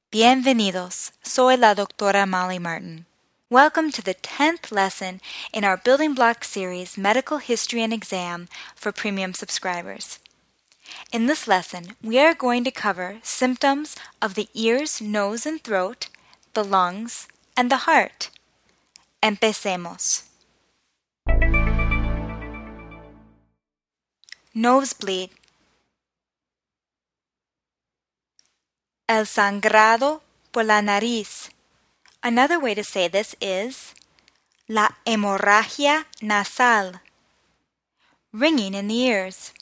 Bienvenidos. Soy la doctora Molly Martin. Welcome to the 10th lesson in our Building Block series Medical History and Exam for premium subscribers. In this lesson, we are going to cover symptoms of the ears, nose, and throat, the lungs, and the heart. Empecemos. Nosebleed. El sangrado por la nariz. Another way to say this is la hemorragia nasal. Ringing in the ears.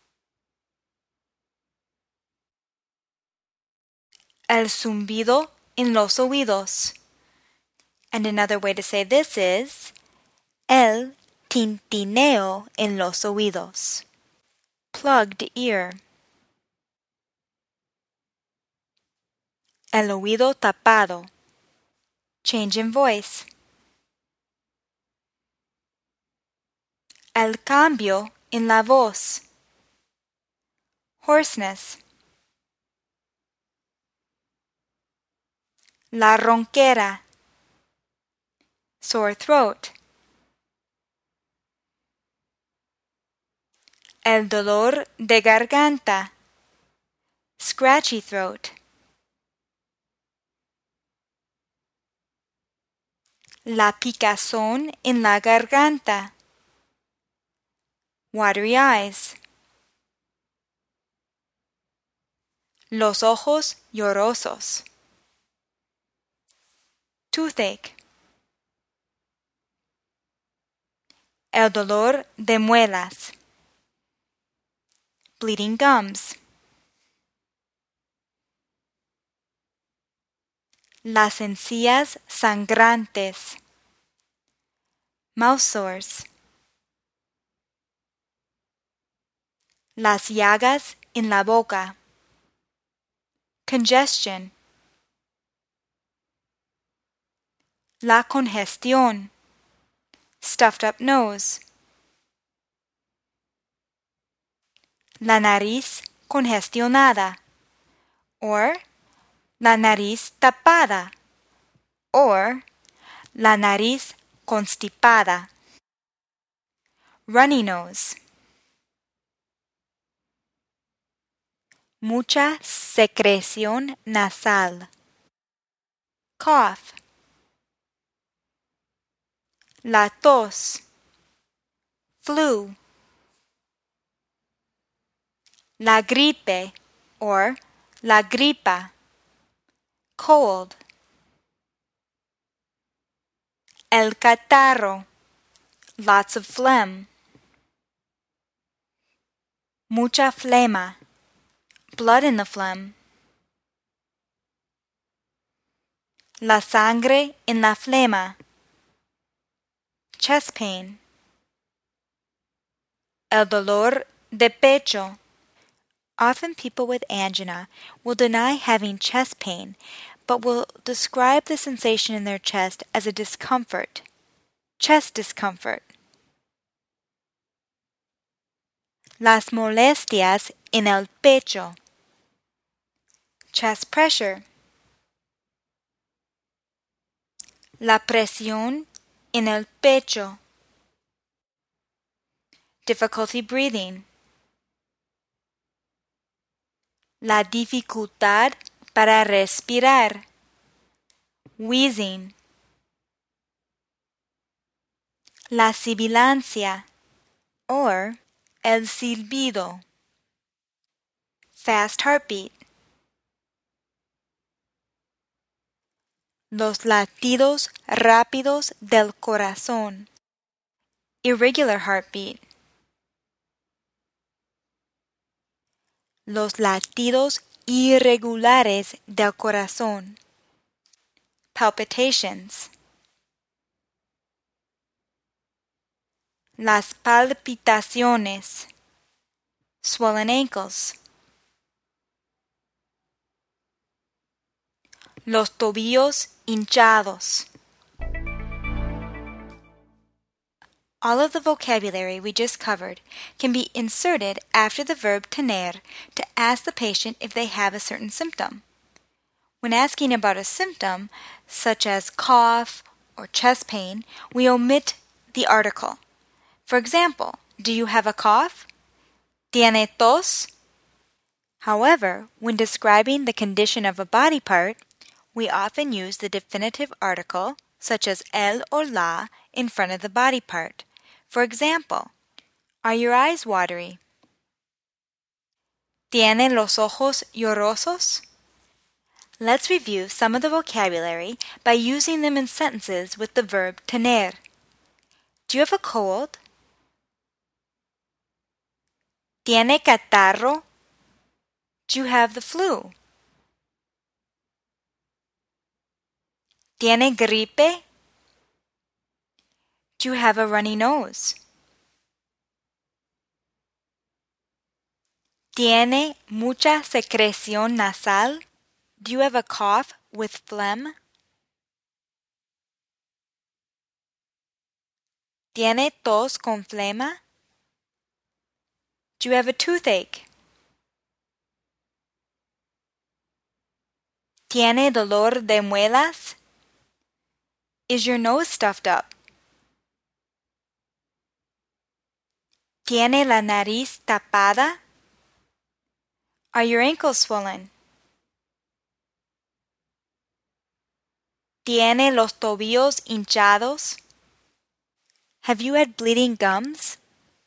El zumbido en los oídos. And another way to say this is el tintineo en los oídos. Plugged ear. El oído tapado. Change in voice. El cambio en la voz. Hoarseness. La ronquera. Sore throat. El dolor de garganta. Scratchy throat. La picazón en la garganta. Watery eyes. Los ojos llorosos. Toothache. El dolor de muelas. Bleeding gums. Las encías sangrantes. Mouth sores. Las llagas en la boca. Congestion. La congestión. Stuffed up nose. La nariz congestionada. Or la nariz tapada. Or la nariz constipada. Runny nose. Mucha secreción nasal. Cough. La tos. Flu. La gripe or la gripa. Cold. El catarro. Lots of phlegm. Mucha flema. Blood in the phlegm. La sangre en la flema. Chest pain. El dolor de pecho. Often people with angina will deny having chest pain, but will describe the sensation in their chest as a discomfort. Chest discomfort. Las molestias en el pecho. Chest pressure. La presión en el pecho. Difficulty breathing. La dificultad para respirar. Wheezing. La sibilancia or el silbido. Fast heartbeat. Los latidos rápidos del corazón. Irregular heartbeat. Los latidos irregulares del corazón. Palpitations. Las palpitaciones. Swollen ankles. Los tobillos hinchados. All of the vocabulary we just covered can be inserted after the verb tener to ask the patient if they have a certain symptom. When asking about a symptom, such as cough or chest pain, we omit the article. For example, do you have a cough? ¿Tiene tos? However, when describing the condition of a body part, we often use the definitive article, such as el or la, in front of the body part. For example, are your eyes watery? ¿Tiene los ojos llorosos? Let's review some of the vocabulary by using them in sentences with the verb tener. Do you have a cold? ¿Tiene catarro? Do you have the flu? ¿Tiene gripe? Do you have a runny nose? ¿Tiene mucha secreción nasal? Do you have a cough with phlegm? ¿Tiene tos con flema? Do you have a toothache? ¿Tiene dolor de muelas? Is your nose stuffed up? ¿Tiene la nariz tapada? Are your ankles swollen? ¿Tiene los tobillos hinchados? Have you had bleeding gums?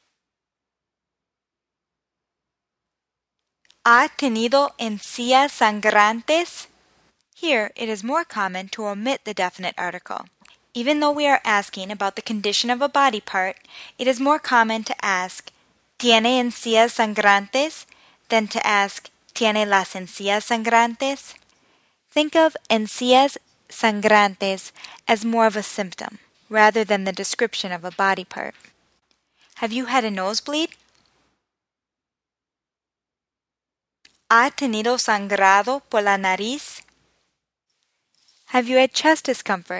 ¿Ha tenido encías sangrantes? Here, it is more common to omit the definite article. Even though we are asking about the condition of a body part, it is more common to ask, ¿Tiene encías sangrantes? Than to ask, ¿Tiene las encías sangrantes? Think of encías sangrantes as more of a symptom, rather than the description of a body part. Have you had a nosebleed? ¿Ha tenido sangrado por la nariz? Have you had chest discomfort?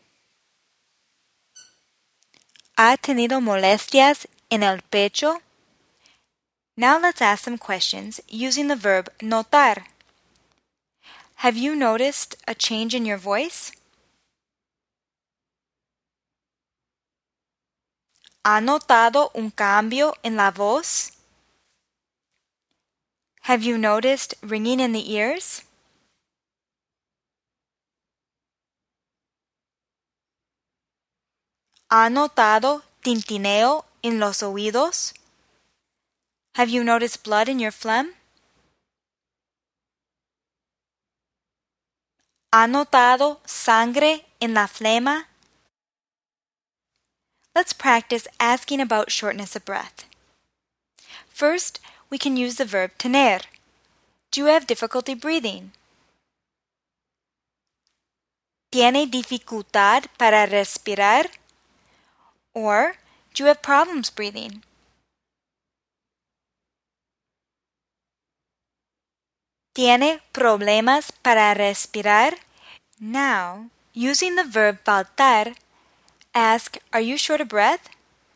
¿Ha tenido molestias en el pecho? Now let's ask some questions using the verb notar. Have you noticed a change in your voice? ¿Ha notado un cambio en la voz? Have you noticed ringing in the ears? ¿Ha notado tintineo en los oídos? Have you noticed blood in your phlegm? ¿Ha notado sangre en la flema? Let's practice asking about shortness of breath. First, we can use the verb tener. Do you have difficulty breathing? ¿Tiene dificultad para respirar? Or, do you have problems breathing? ¿Tiene problemas para respirar? Now, using the verb faltar, ask, are you short of breath?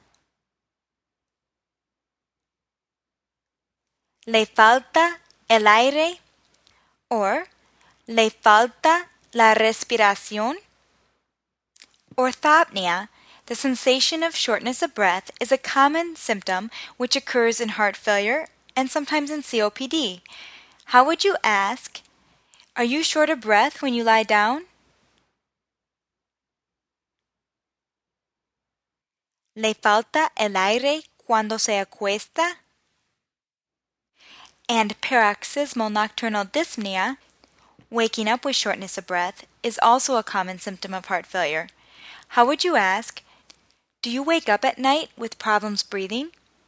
¿Le falta el aire? Or, ¿le falta la respiración? Orthopnea, the sensation of shortness of breath, is a common symptom which occurs in heart failure and sometimes in COPD. How would you ask, are you short of breath when you lie down? ¿Le falta el aire cuando se acuesta? And paroxysmal nocturnal dyspnea, waking up with shortness of breath, is also a common symptom of heart failure. How would you ask, do you wake up at night with problems breathing?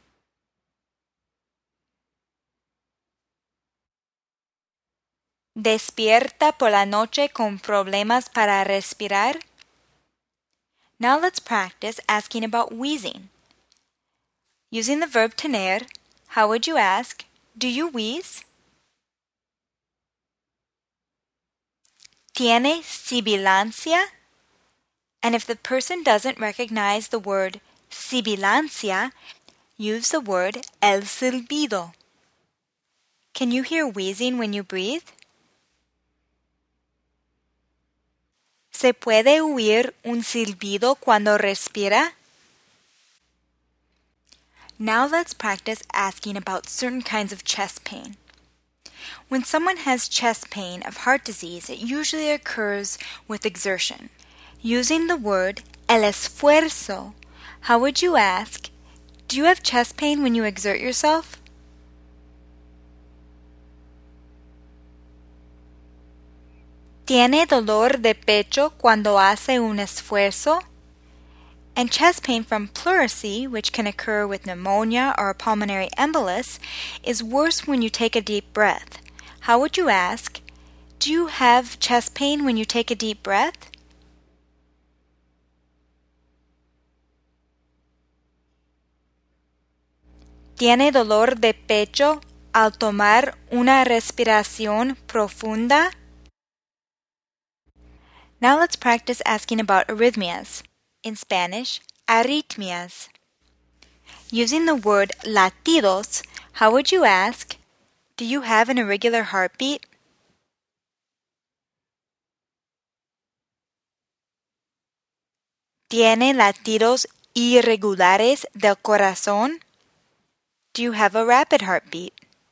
¿Despierta por la noche con problemas para respirar? Now let's practice asking about wheezing. Using the verb tener, how would you ask, do you wheeze? ¿Tiene sibilancia? And if the person doesn't recognize the word sibilancia, use the word el silbido. Can you hear wheezing when you breathe? ¿Se puede oír un silbido cuando respira? Now let's practice asking about certain kinds of chest pain. When someone has chest pain of heart disease, it usually occurs with exertion. Using the word el esfuerzo, how would you ask, do you have chest pain when you exert yourself? ¿Tiene dolor de pecho cuando hace un esfuerzo? And chest pain from pleurisy, which can occur with pneumonia or a pulmonary embolus, is worse when you take a deep breath. How would you ask, do you have chest pain when you take a deep breath? ¿Tiene dolor de pecho al tomar una respiración profunda? Now let's practice asking about arrhythmias. In Spanish, arritmias. Using the word latidos, how would you ask, do you have an irregular heartbeat? ¿Tiene latidos irregulares del corazón? Do you have a rapid heartbeat?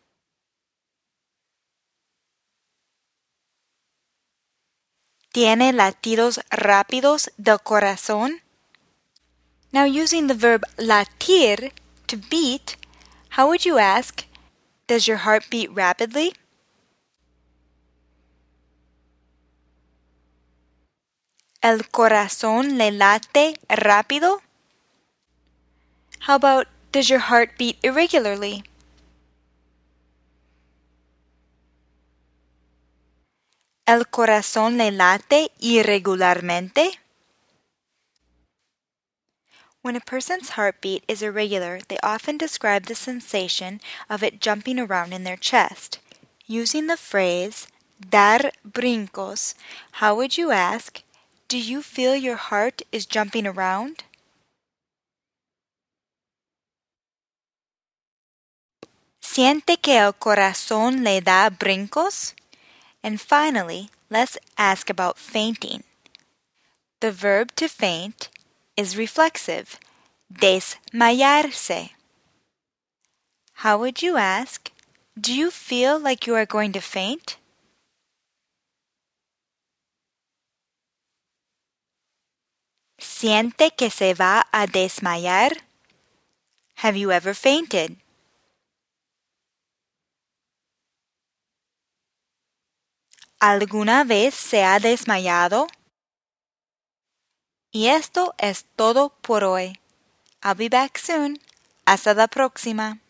¿Tiene latidos rápidos del corazón? Now using the verb latir, to beat, how would you ask, does your heart beat rapidly? ¿El corazón le late rápido? How about, does your heart beat irregularly? ¿El corazón le late irregularmente? When a person's heartbeat is irregular, they often describe the sensation of it jumping around in their chest. Using the phrase dar brincos, how would you ask, do you feel your heart is jumping around? ¿Siente que el corazón le da brincos? And finally, let's ask about fainting. The verb to faint is reflexive, desmayarse. How would you ask, do you feel like you are going to faint? ¿Siente que se va a desmayar? Have you ever fainted? ¿Alguna vez se ha desmayado? Y esto es todo por hoy. I'll be back soon. Hasta la próxima.